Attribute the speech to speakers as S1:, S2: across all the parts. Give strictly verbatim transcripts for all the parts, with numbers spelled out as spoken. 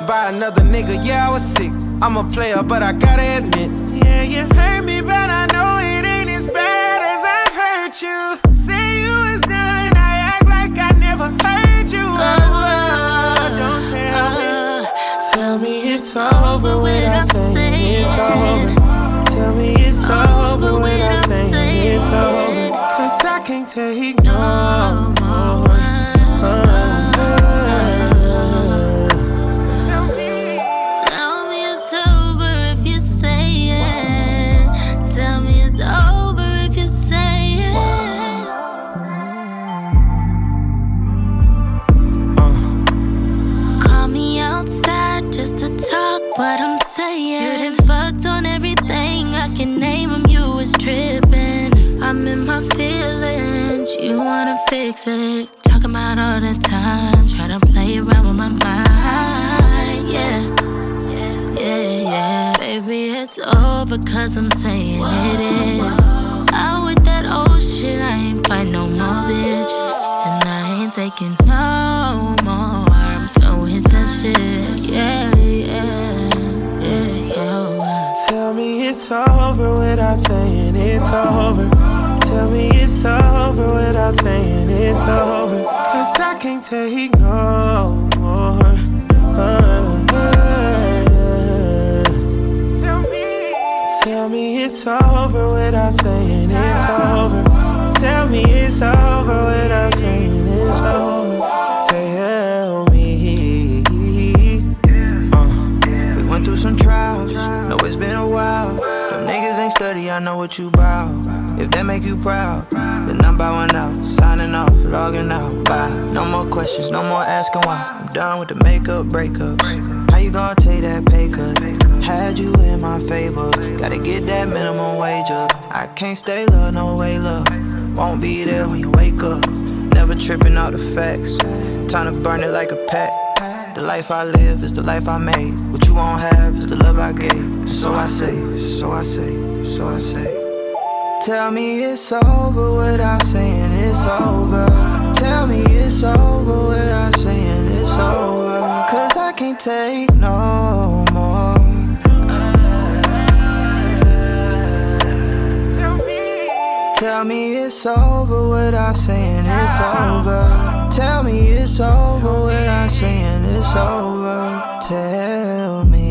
S1: by another nigga, yeah, I was sick. I'm a player, but I gotta admit, yeah, you hurt me, but I know it ain't as bad as I hurt you. Say you was done, I act like I never heard you. Oh, oh, don't tell me. Tell me it's over without saying it's over. Tell me it's over without saying it's over. Cause I can't take no more. Uh,
S2: Tell me, tell me it's over if you say it. Tell me it's over if you say it. Uh. Call me outside just to talk what I'm saying. You done fucked on everything I can name them. You was tripping. I'm in my feelings. You wanna fix it. Talking about all the time. Try to play around with my mind. Yeah, yeah, yeah, yeah. Baby, it's over cause I'm saying it is. Out with that old shit. I ain't fight no more bitches. And I ain't taking no more. I'm done with that shit. Yeah, yeah, yeah, yeah.
S1: Tell me it's over without saying it's over. Tell me it's over without saying it's over. Cause I can't take no more. Uh, uh, tell me, tell me it's over without saying it's over. Tell me it's over without saying it's over. Tell me.
S3: Uh, we went through some trials. Know it's been a while. Them niggas ain't study, I know what you bout. If that make you proud, then I'm bowing out, signing off, logging out, bye. No more questions, no more asking why. I'm done with the makeup breakups. How you gonna take that pay cut? Had you in my favor, gotta get that minimum wage up. I can't stay low, no way love. Won't be there when you wake up. Never tripping out the facts. Time to burn it like a pack. The life I live is the life I made. What you won't have is the love I gave. So I say, so I say, so I say. Tell me it's over without saying it's over. Tell me it's over without saying it's over. Cause I can't take no more. Tell me it's over without saying it's over. Tell me it's over without saying it's over. Tell me.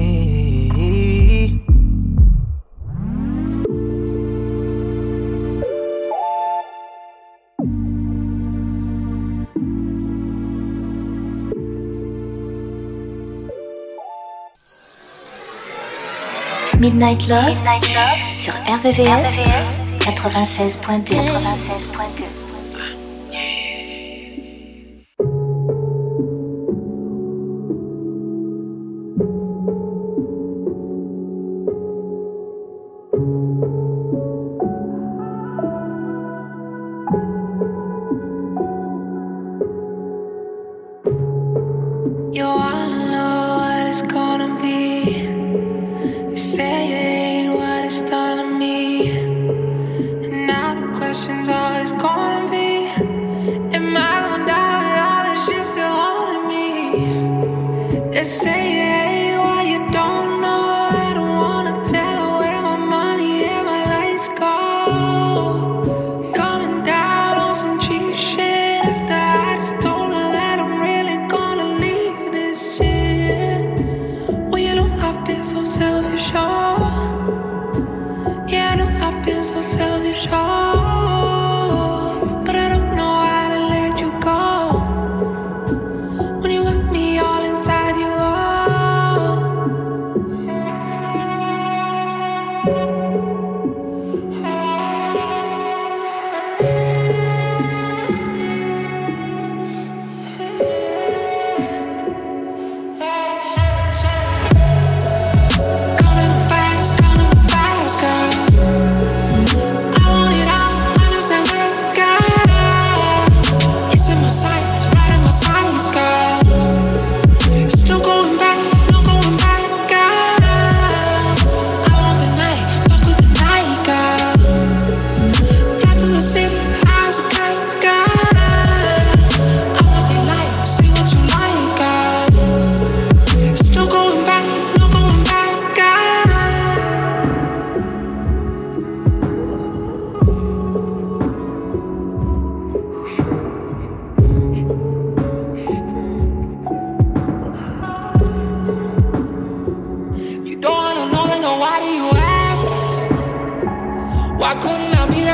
S4: Midnight Love, Midnight Love sur R V V S quatre-vingt-seize point deux. quatre-vingt-seize point deux.
S5: You wanna know what it's gonna be. You say it ain't what it's telling me. And now the question's always gonna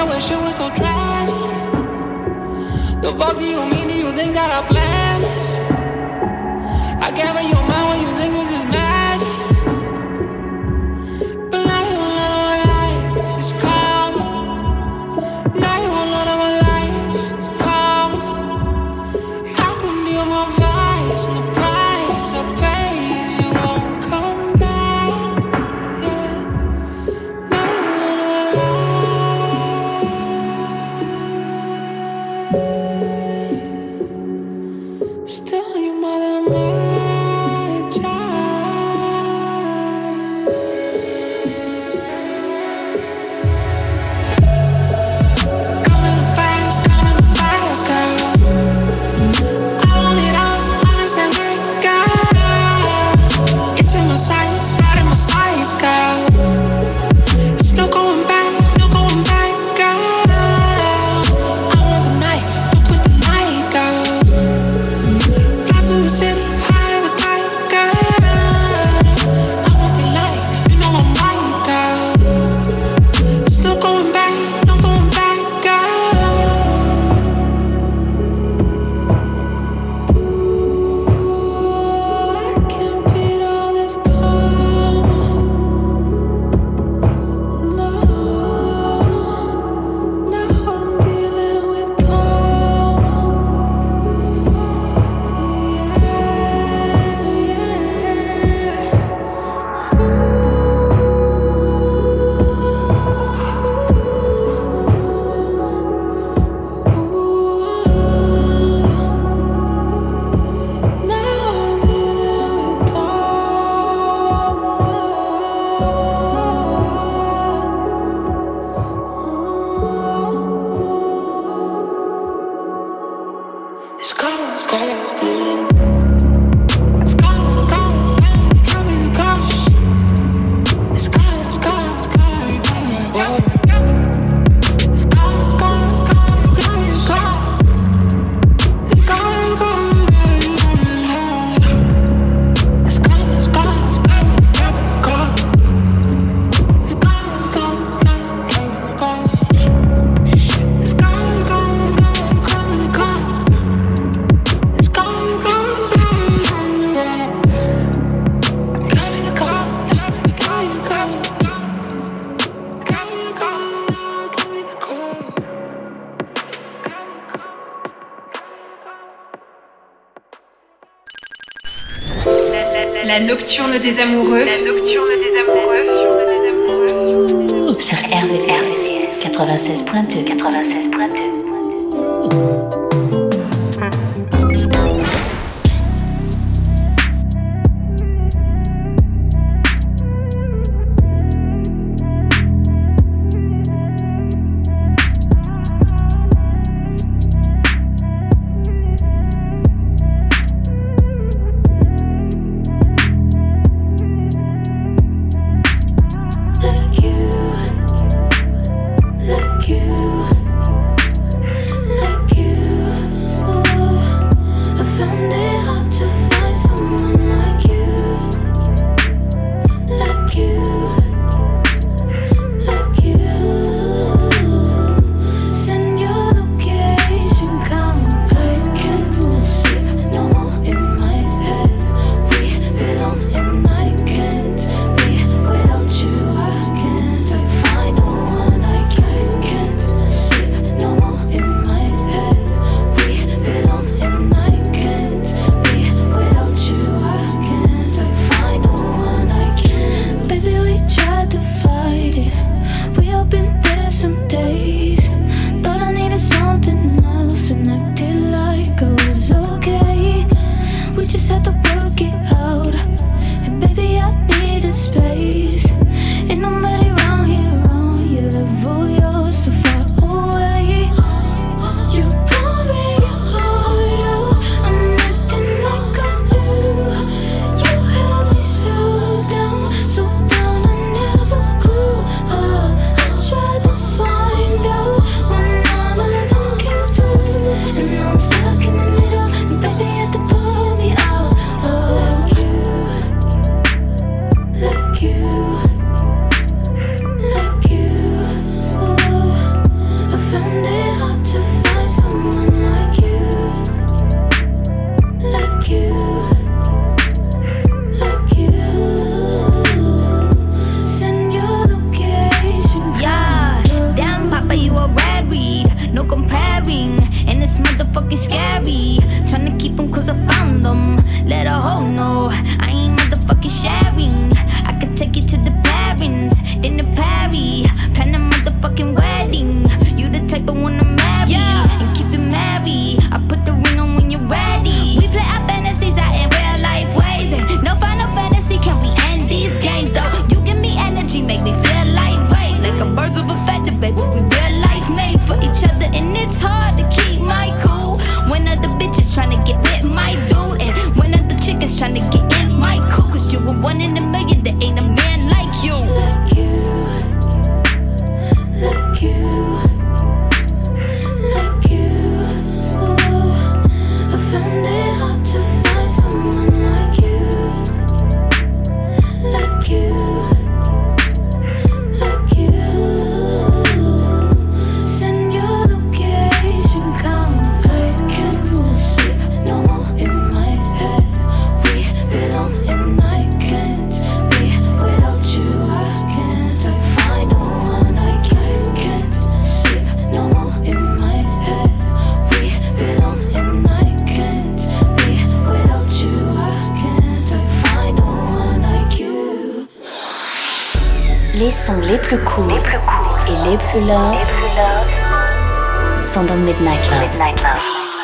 S5: wish it was so tragic. The fuck do you mean? Do you think that I planned this? I can't read your mind when you think this is magic. But now you want none of my life, it's calm. Now you want none of my life, it's calm. I couldn't deal with my vice and the price I pay is you won't come back. Yeah. Now you want none of my life. Still your mother, my child. Coming fast, coming fast, girl. I want it all, understand that, girl. It's in my sights, right in my sights, girl. It's no going back, no going back, girl. I want the night, fuck with the night, girl. Fly through the city, high as a kite, girl. I want the light, you know I'm right, girl. It's no going back, no going back, girl. Ooh, I can't beat all this calm. No, now I'm dealing with calm. It's gone, it's gone, it's gone. It's gone, it's gone, it's gone. Coming, it's gone. It's gone, it's gone, it's gone. It's gone, it's gone, it's gone. Coming, it's gone. It's gone, it's gone, it's gone. It's gone, it's gone, it's gone. It's gone, it's gone, it's gone. It's gone, it's gone, it's gone. Coming, it's gone. It's gone, gone, gone. Coming to come, coming, coming, coming, coming, coming to come.
S6: La nocturne des amoureux. La nocturne des amoureux.
S4: Sur R V V S quatre-vingt-seize point deux. quatre-vingt-seize point deux.
S2: Look you, look you, look you.
S4: Les sons les plus courts et les plus love sont dans Midnight Love. Midnight Love.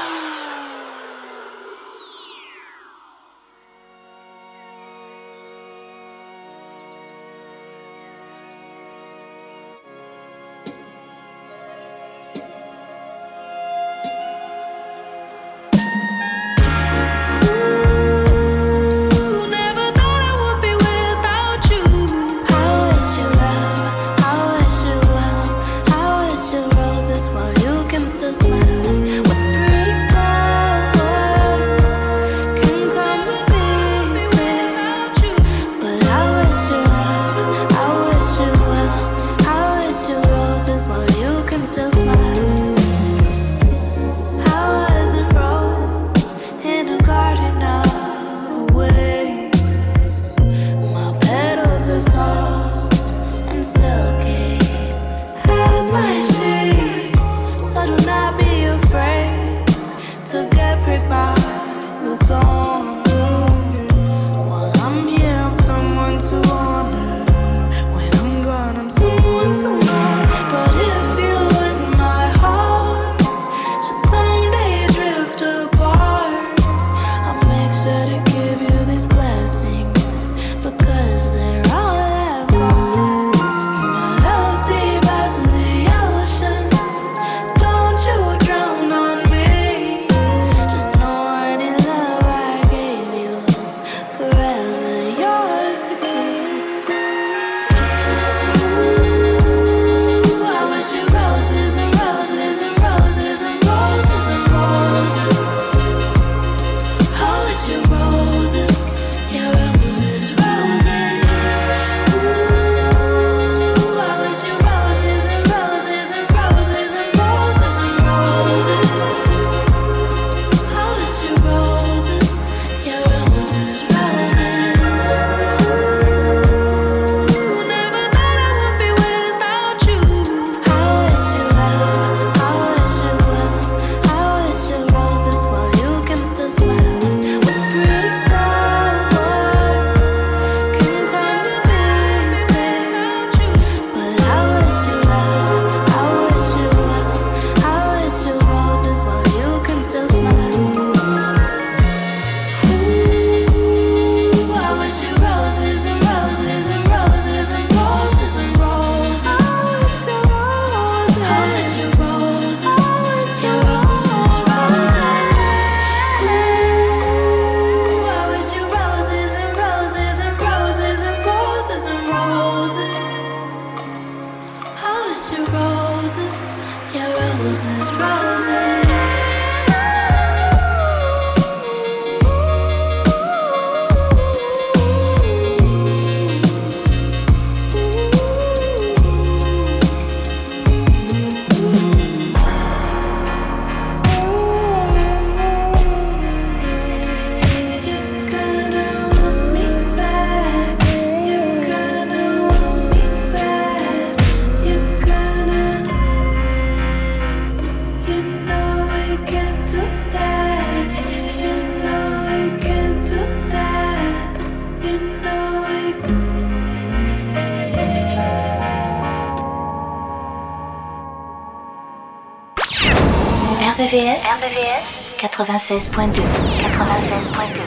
S4: R V V S, R V V S quatre-vingt-seize point deux. quatre-vingt-seize point deux.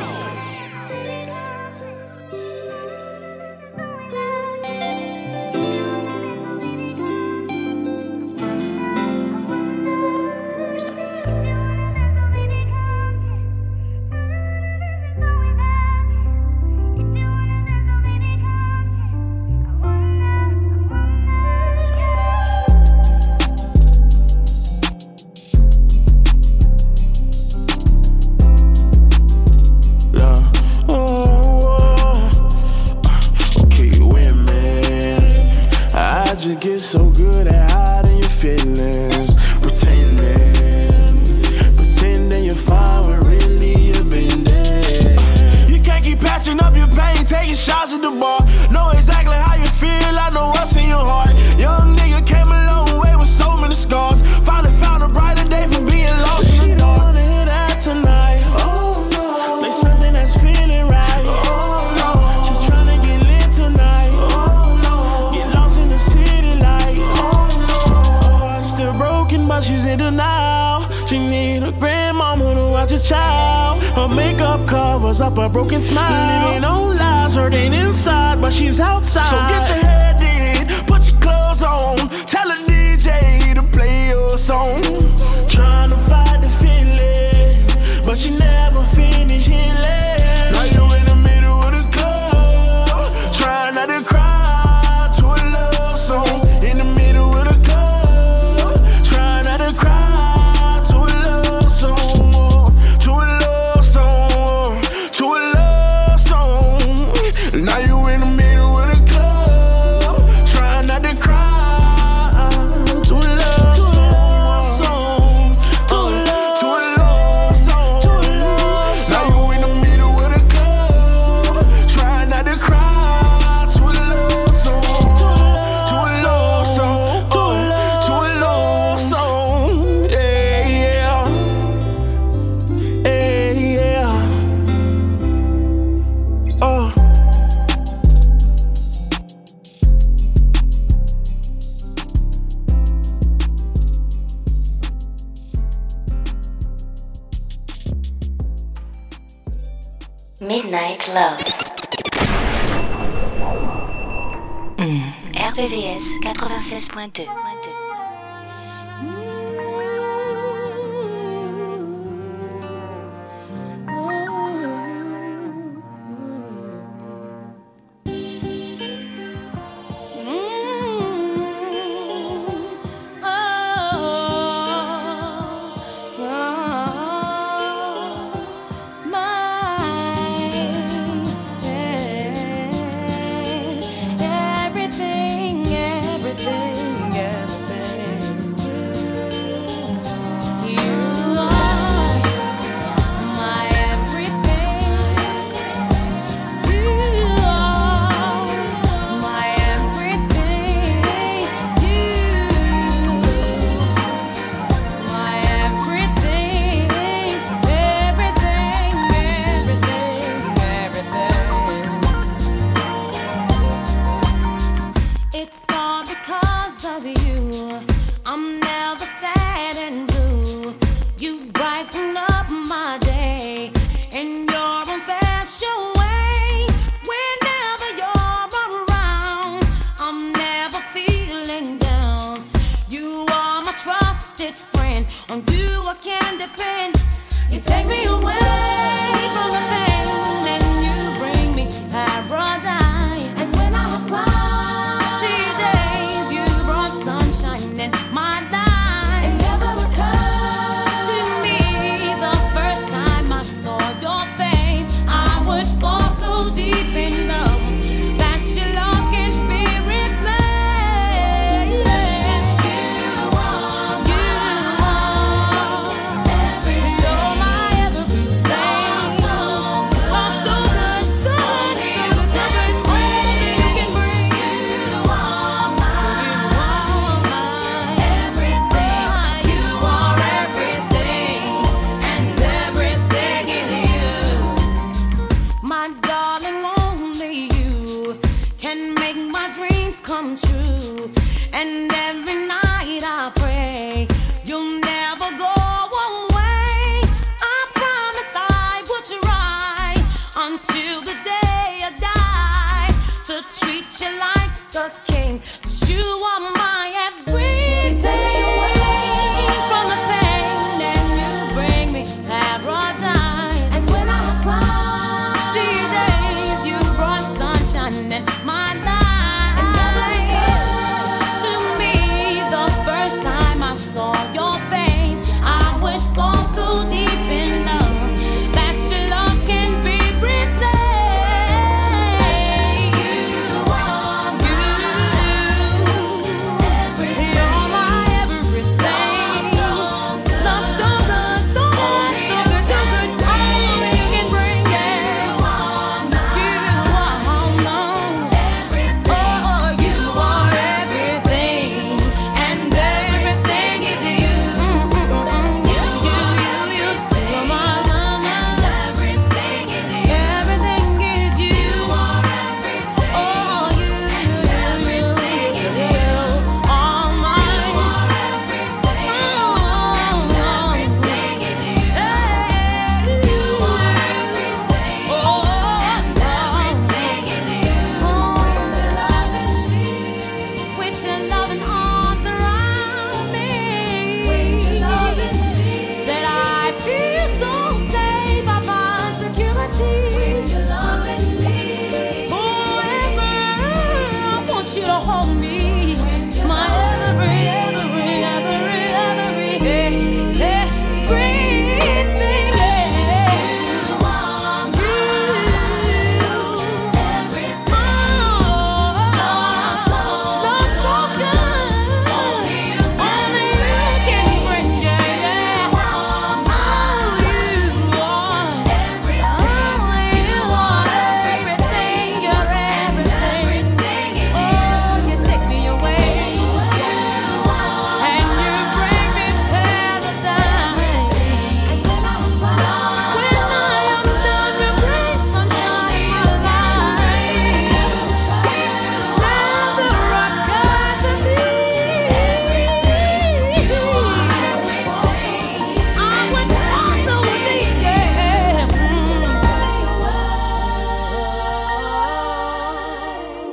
S1: covers up a broken smile. Living on lies, hurting inside, but she's outside. So get your head in, put your clothes on, tell a D J to play your song. Trying to fight the feeling, but you never finish healing. Now you in the middle of the club, trying not to cry to a love song. In the middle of the club, trying not to cry to a love song, to a love song, to a love song. Now you in the middle of the club, trying not to cry.
S4: Midnight Love. Mm. R V V S quatre-vingt-seize point deux.
S2: You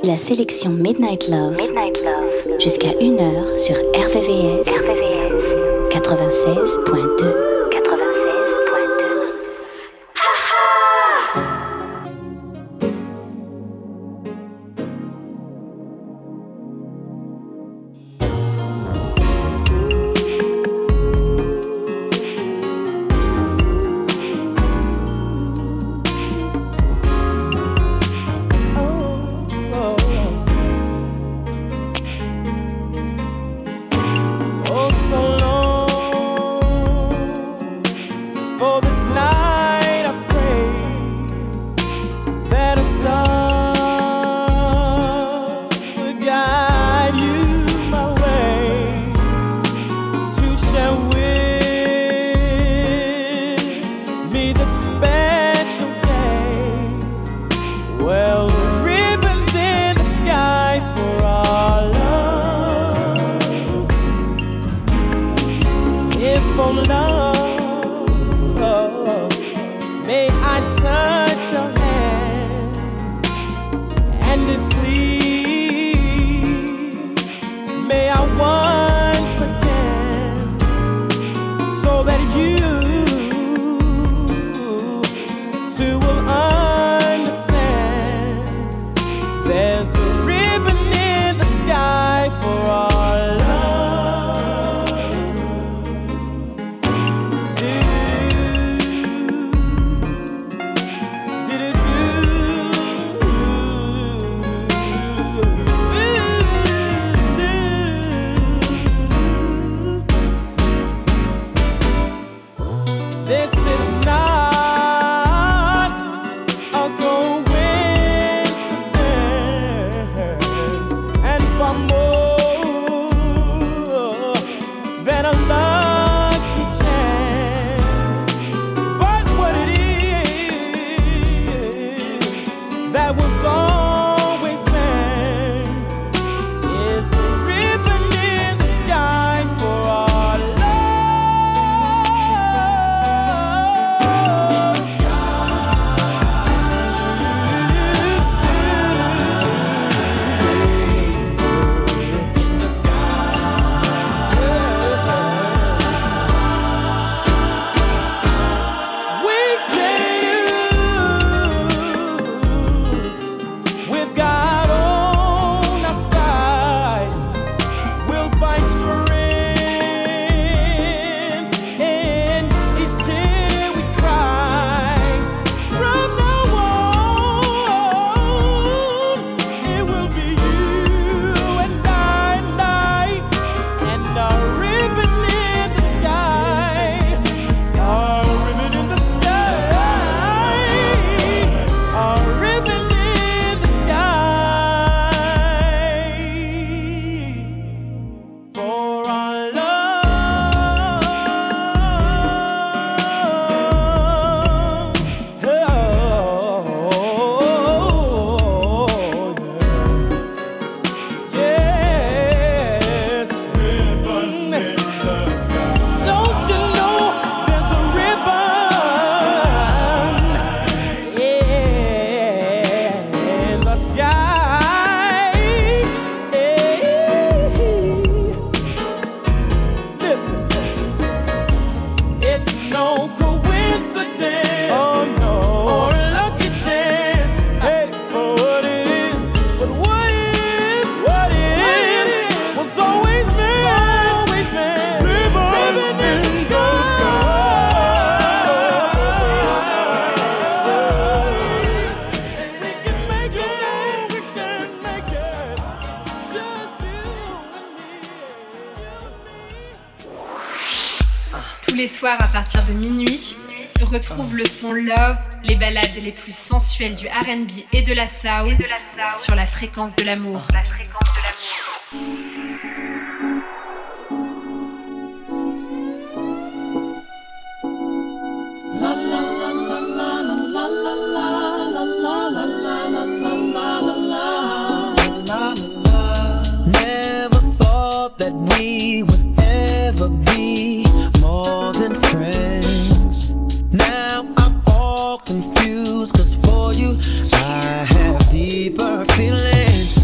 S4: La sélection Midnight Love, Midnight Love. Jusqu'à une heure sur R V V S, R V V S quatre-vingt-seize point deux.
S6: Tous les soirs à partir de minuit, retrouve le son Love, les ballades les plus sensuelles du R and B et de la soul sur la fréquence de l'amour. La fréquence de l'amour.
S7: Never thought that we would ever be more than friends. Now I'm all confused, cause for you I have deeper feelings.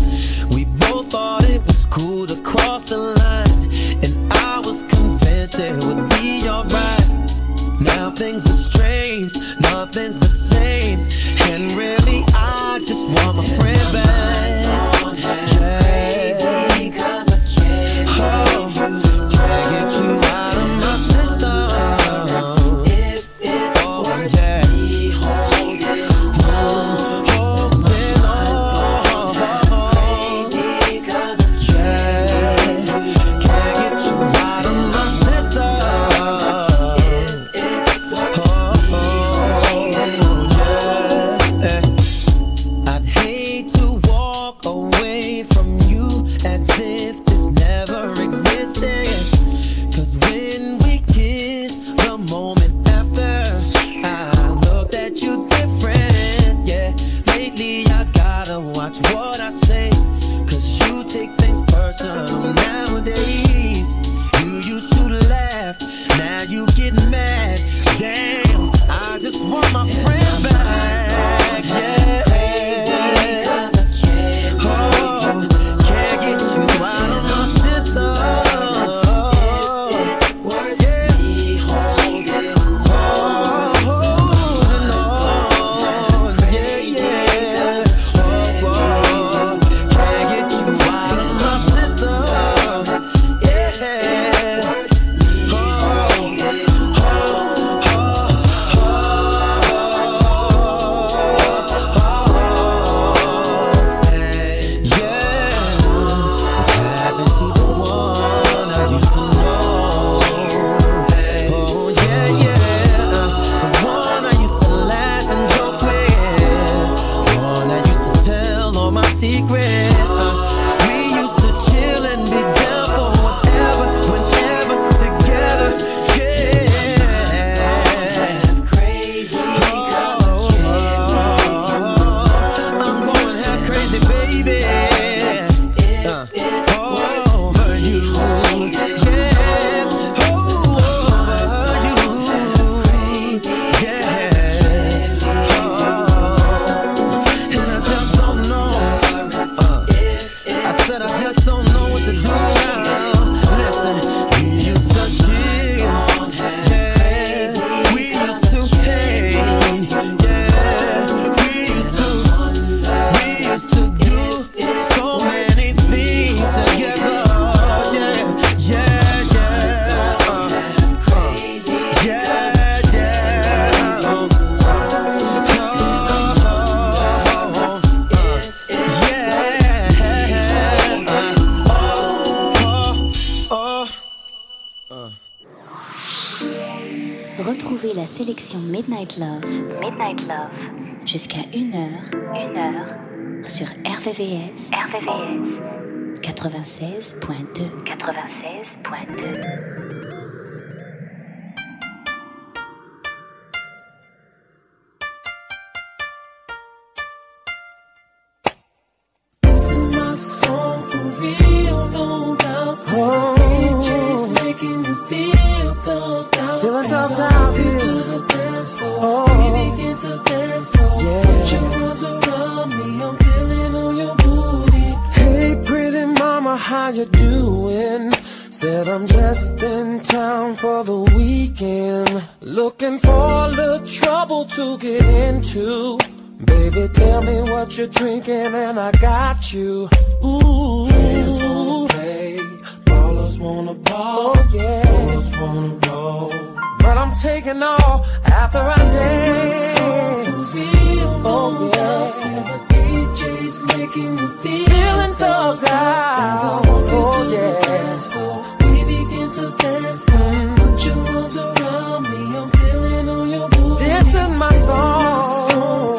S7: what I say, cause you take things personal nowadays. You used to laugh, now you get mad. Damn, I just want my friend back. Yeah, crazy cause I can't, oh, can't get you out of my system. If it's worth yeah. me holding on, holding on, yeah, yeah. Oh, oh, can't get you out of my system. Yeah, worth me holding
S4: Retrouvez la sélection Midnight Love, Midnight Love, jusqu'à une heure, une heure, sur R V V S, R V V S, quatre-vingt-seize point deux, quatre-vingt-seize point deux.
S7: This is my song for real, no doubt. Oh, D J's making me feel thugged out. Feeling thugged out here. To the dance floor, oh, we begin to dance slow. Yeah. Put your arms around me, I'm feeling on your booty. Hey, pretty mama, how you doing? Said I'm just in town for the weekend, looking for a little trouble to get into. Baby, tell me what you're drinking and I got you. Ooh, players wanna play, ballers wanna ball, oh, yeah, ballers wanna roll. But I'm taking all after I this dance. Is my song, real, oh yeah. See the D J's making me feel feeling thugged out. As I walk oh, into yeah. the dance floor, we begin to dance. Mm. Put your arms around me, I'm feeling on your booty. This is my this song. Is my song.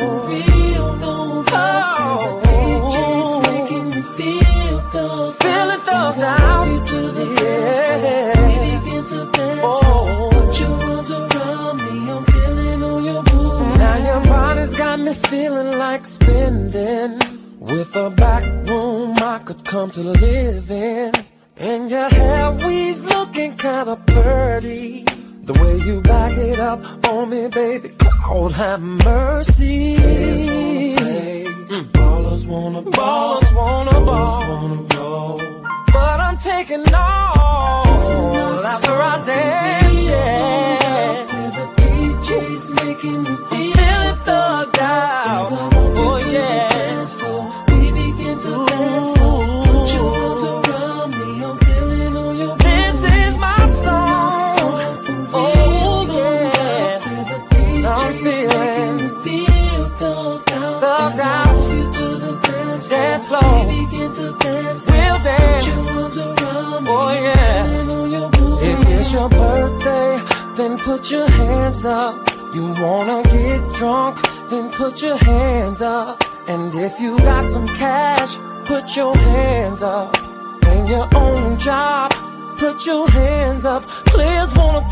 S7: Down to the yeah. We begin to dance. Oh. Put your arms around me, I'm feeling on your booty. Now your body's got me feeling like spending. With a back room I could come to live in. And your hair weaves looking kinda pretty. The way you back it up on me, baby, Lord have mercy. Players wanna play, mm. ballers wanna ball, ballers wanna ball, ballers wanna roll. But I'm taking all after I dance, yeah. See the D J's making me feel feeling thugged out. Oh yeah. Dance floor, we begin to Ooh. Dance slow. Put your arms around me, I'm feeling on your booty. This is my song. Oh yeah. See the D J's making me feel thugged out. Thugged out. You to the dance floor. Dance floor. We begin to dance. We'll dance. Oh yeah. If it's your birthday, then put your hands up. You wanna get drunk, then put your hands up. And if you got some cash, put your hands up. And your own job, put your hands up. Players wanna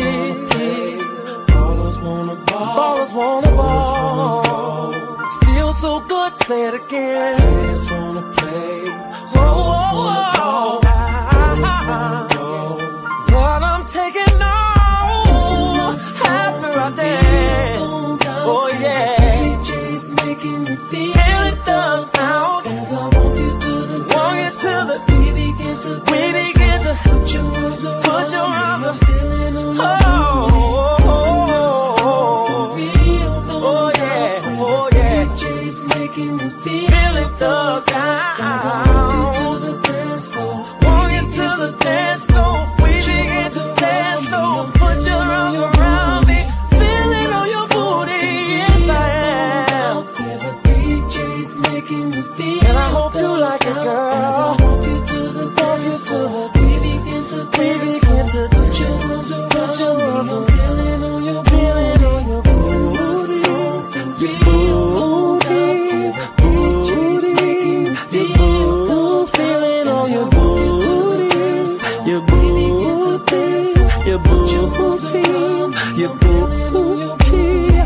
S7: play, ballers wanna ball, ballers wanna ball. Feels feels so good, say it again. I just wanna play, oh, oh, oh, oh. But I'm taking off after I dance. Oh yeah, D J's making me feel it down out. As I walk you to the walk you to the we begin to we begin to put your arms around put your arms around. Oh, oh, oh, oh yeah, oh yeah. D J's making me feel it down. As I walk you to the dance floor, walk you to the dance floor. We begin to dance floor. Put your arms around me, feeling on your booty. Yes I am. D J's making me feel. And I hope you like it, girl. As I walk you to the dance floor, we begin to we begin to put your arms around put your arms around. Feeling on your feeling on your booty. Your booty. D J's making me feel. Feeling on your booty. Your booty. Your booty. Your booty. Your booty.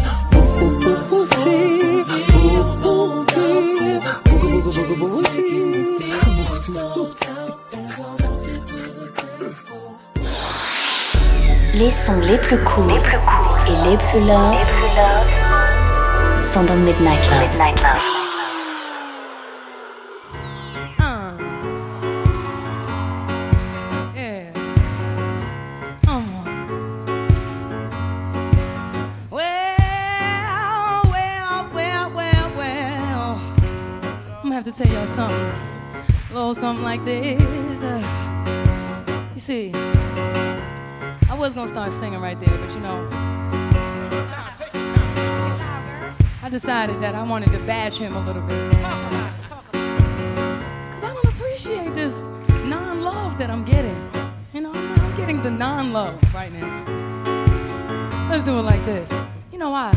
S4: Les sons les plus courts les plus courts et les plus love, les plus love sont dans Midnight Love. Midnight Love.
S8: Uh. Yeah. Uh. Well, well, well, well, well. I'm gonna have to tell y'all something. A little something like this. Uh, you see, I was gonna start singing right there, but you know, I decided that I wanted to bash him a little bit. Cause I don't appreciate this non-love that I'm getting. You know, I'm, not, I'm getting the non-love right now. Let's do it like this. You know why?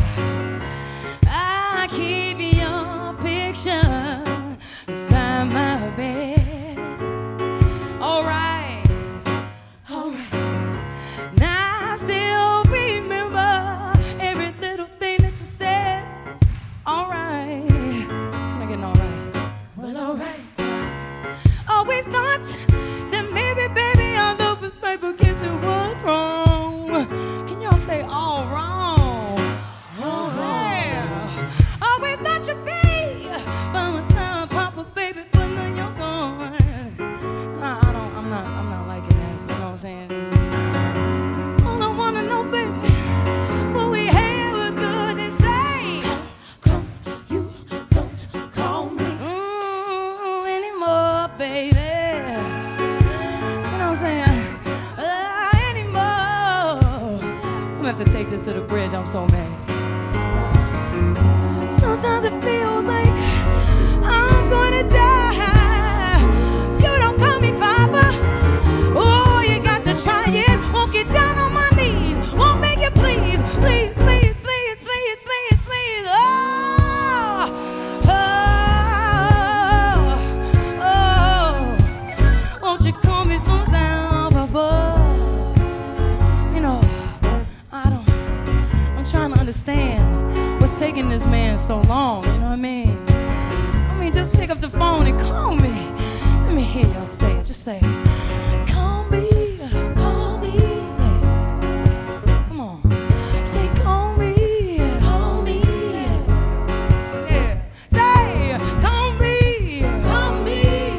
S8: I keep your picture beside my bed. Alright, alright. Now I still remember every little thing that you said. Alright. Can I get an alright? Well, alright. Always thought that maybe, baby, our love was right, but guess it was wrong. Can y'all say all wrong? All right. Always thought you'd be by my side, Papa, baby, but now you're gone. Nah, I don't, I'm not, I'm not liking that, you know what I'm saying? All I wanna know, baby, what we had was good and say, how come you don't call me mm, anymore, baby? You know what I'm saying? Uh, anymore. I'm gonna have to take this to the bridge, I'm so mad. Sometimes it feels like I'm gonna die. You don't call me father. Oh, you got to try it. Won't get down on my knees. Won't make it please, please, please, please, please, please, please. Oh, oh, oh. Won't you call me sometime, Papa? You know, I don't. I'm trying to understand what's taking this man so long. You know what I mean? I mean, just pick up the phone and call me. Let me hear y'all say it. Just say, call me, call me. Yeah. Come on. Say, call me, call me. Yeah. Say, call me, call me.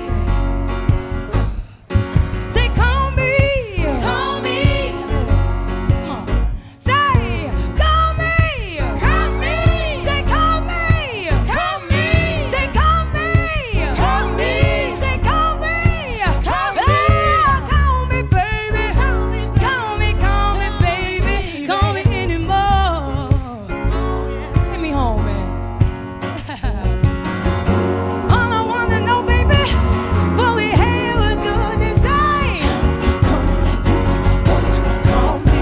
S8: Say, call me, call me. Come on. Say, call me, call me. Say, call me, call me. Say, call me, call me. Say, call me, call me. Ah, call me, baby. Call me, call me, baby. Call me anymore. Take me home, man. All I wanna know, baby, what we had was good and say, don't call me.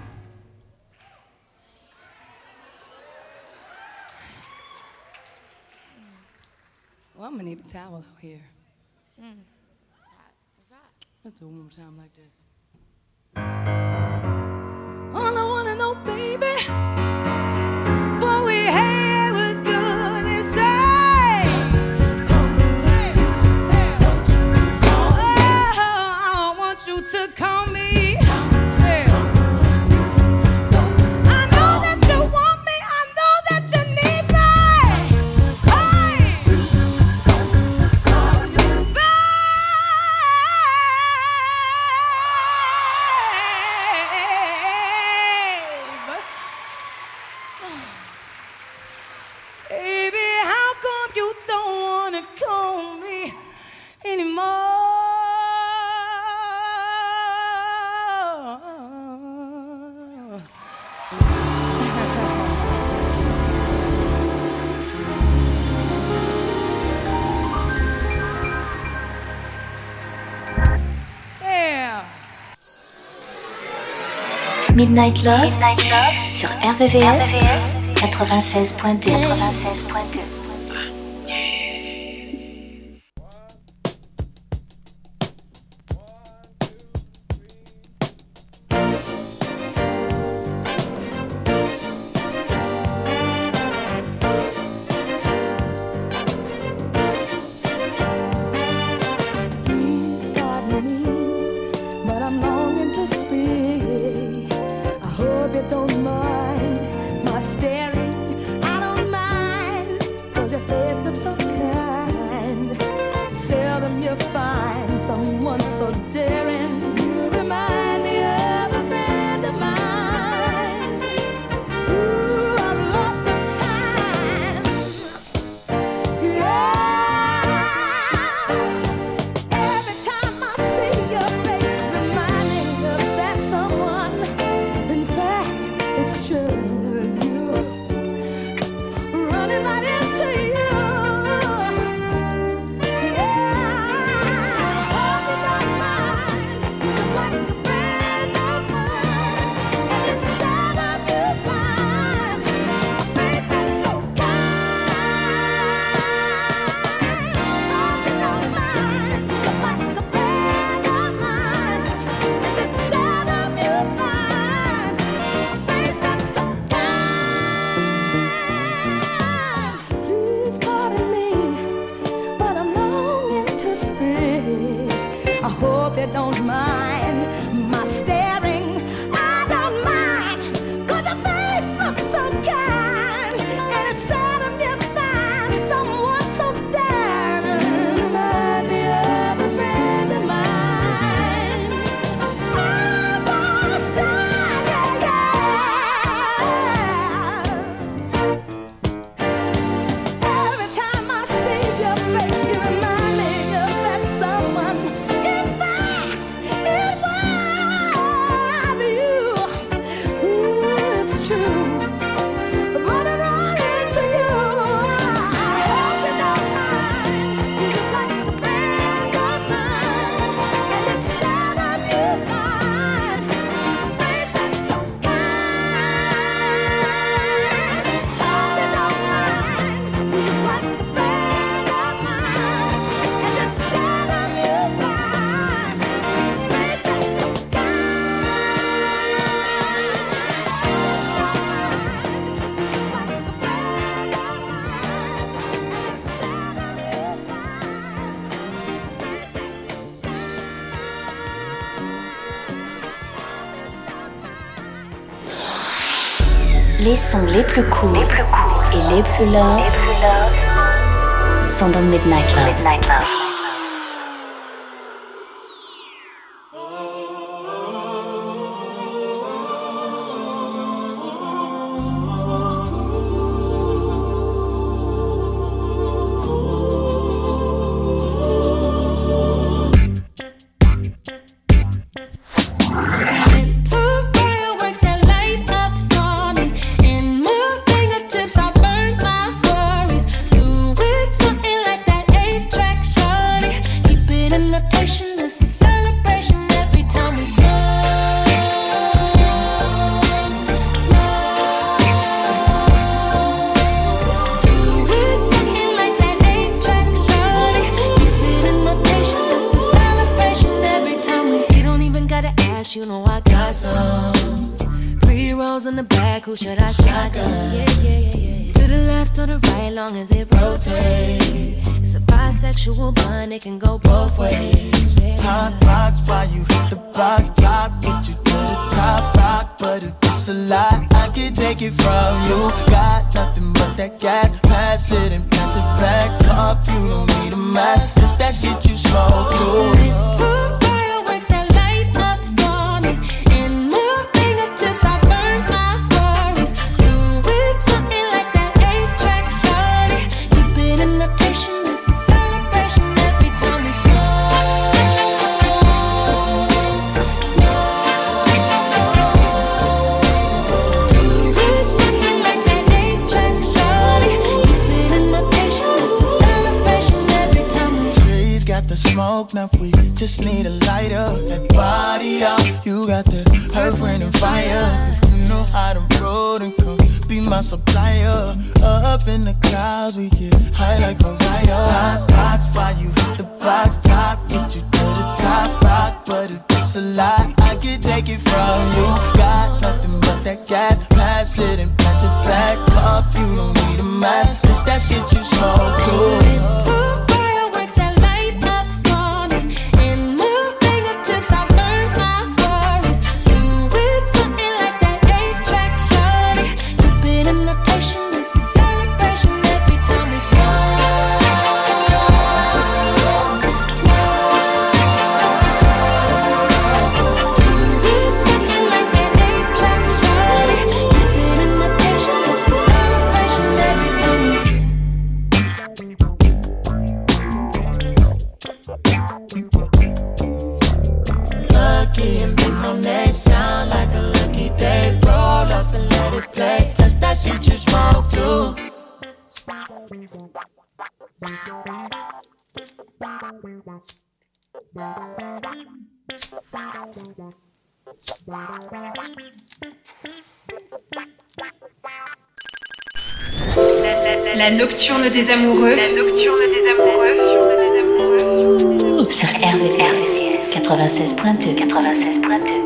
S8: Well, I'm gonna need a towel out here. Mm. Let's do it one more time like this. All I wanna know, baby, what we had was good and say.
S4: Midnight Love, Midnight Love sur R V V S quatre-vingt-seize point deux. quatre-vingt-seize point deux. Les sons les plus courts les plus cool et les plus love, les plus love sont dans Midnight Love. Midnight Love.
S2: Celebration every time we start.
S3: got the smoke, now we just need a lighter. That body out, you got the earth, wind, and fire. If you know how to roll, then come be my supplier. Up in the clouds, we get high like Mariah. Hot box, fire, you hit the box top, get you to the top rock. But if it's a lie, I can take it from you. Got nothing but that gas, pass it and pass it back off. You don't need a mask, it's that shit you smoke too.
S6: La nocturne des amoureux. La nocturne des amoureux.
S4: Sur R V V S quatre-vingt-seize point deux. quatre-vingt-seize point deux.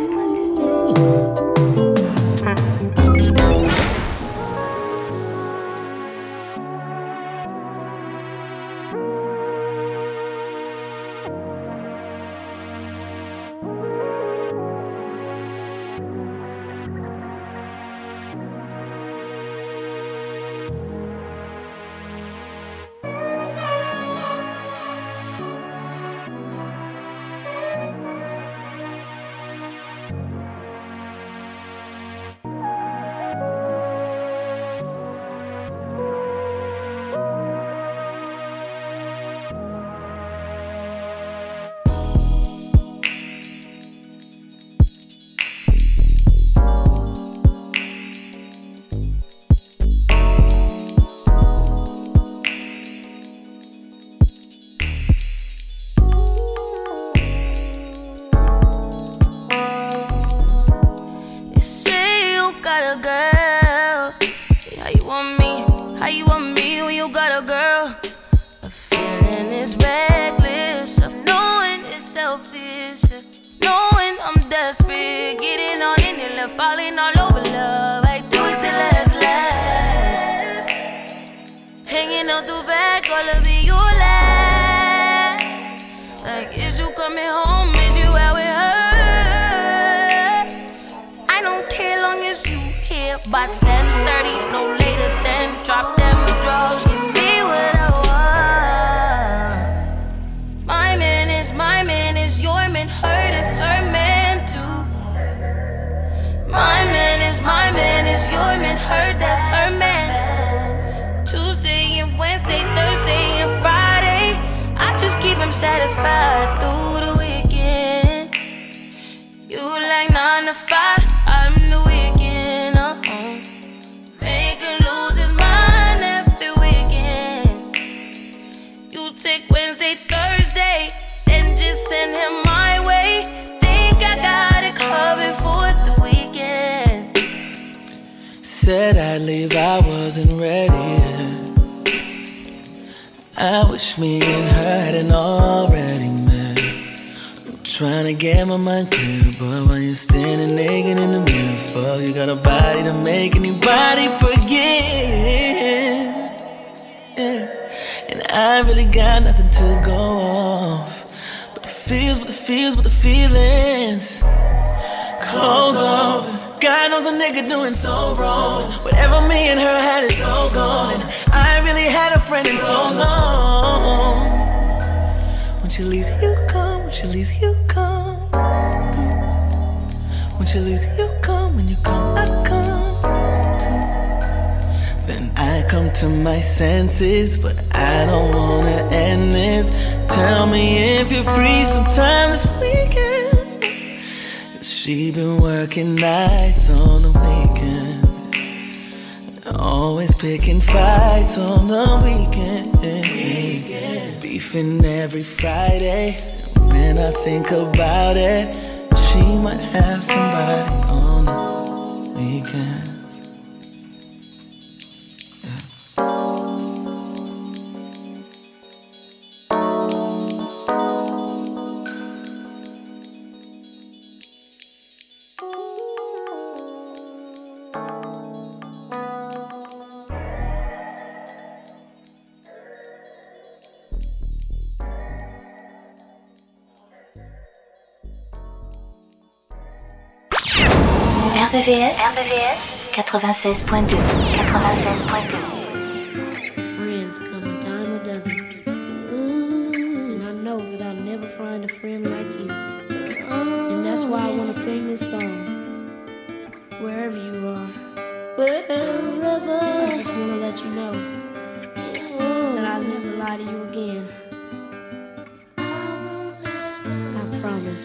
S2: Satisfied through the weekend. You like nine to five, I'm the weekend. Uh-huh. Make him lose his mind every weekend. You take Wednesday, Thursday, then just send him my way. Think I got it covered for the weekend.
S3: Said I'd leave, I wasn't ready. I wish me and her hadn't already met. I'm trying to get my mind clear, but when you're standing naked in the mirror, fuck, you got a body to make anybody forget. Yeah. And I really got nothing to go off, but the feels, but the feels, but the feelings. Clothes off. God knows a nigga doing so wrong. Whatever me and her had is so gone. And I really had a friend in so long. When she leaves, you come. When she leaves, you come. When she leaves, you come. When you come, I come too. Then I come to my senses, but I don't wanna end this. Tell me if you're free sometime this weekend. She been working nights on the weekend.
S1: Always picking fights on the weekend. Beefing every Friday. When I think about it, she might have somebody on the weekends.
S4: R V V S, R V V S quatre-vingt-seize point deux, quatre-vingt-seize point deux.
S9: Friends come a dime a dozen. Ooh, and I know that I'll never find a friend like you. And that's why I want to sing this song. Wherever you are, wherever, I just want to let you know that I'll never lie to you again. I promise.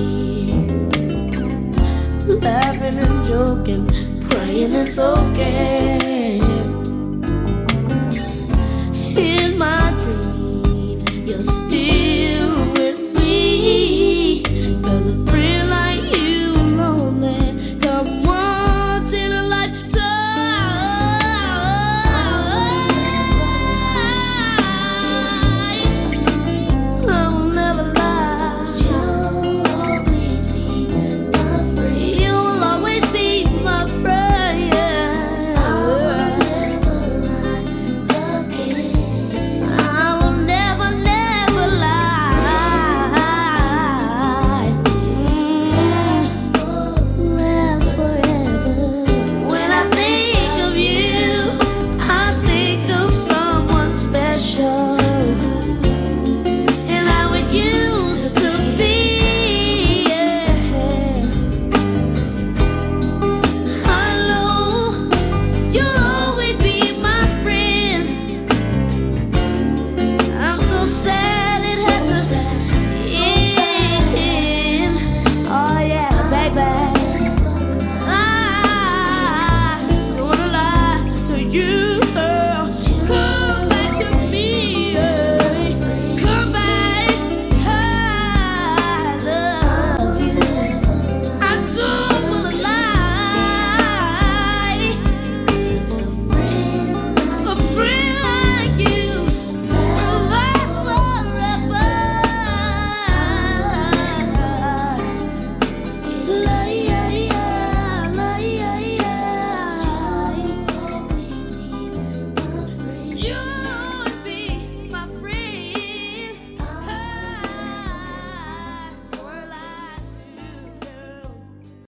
S5: Laughing and joking, praying it's okay.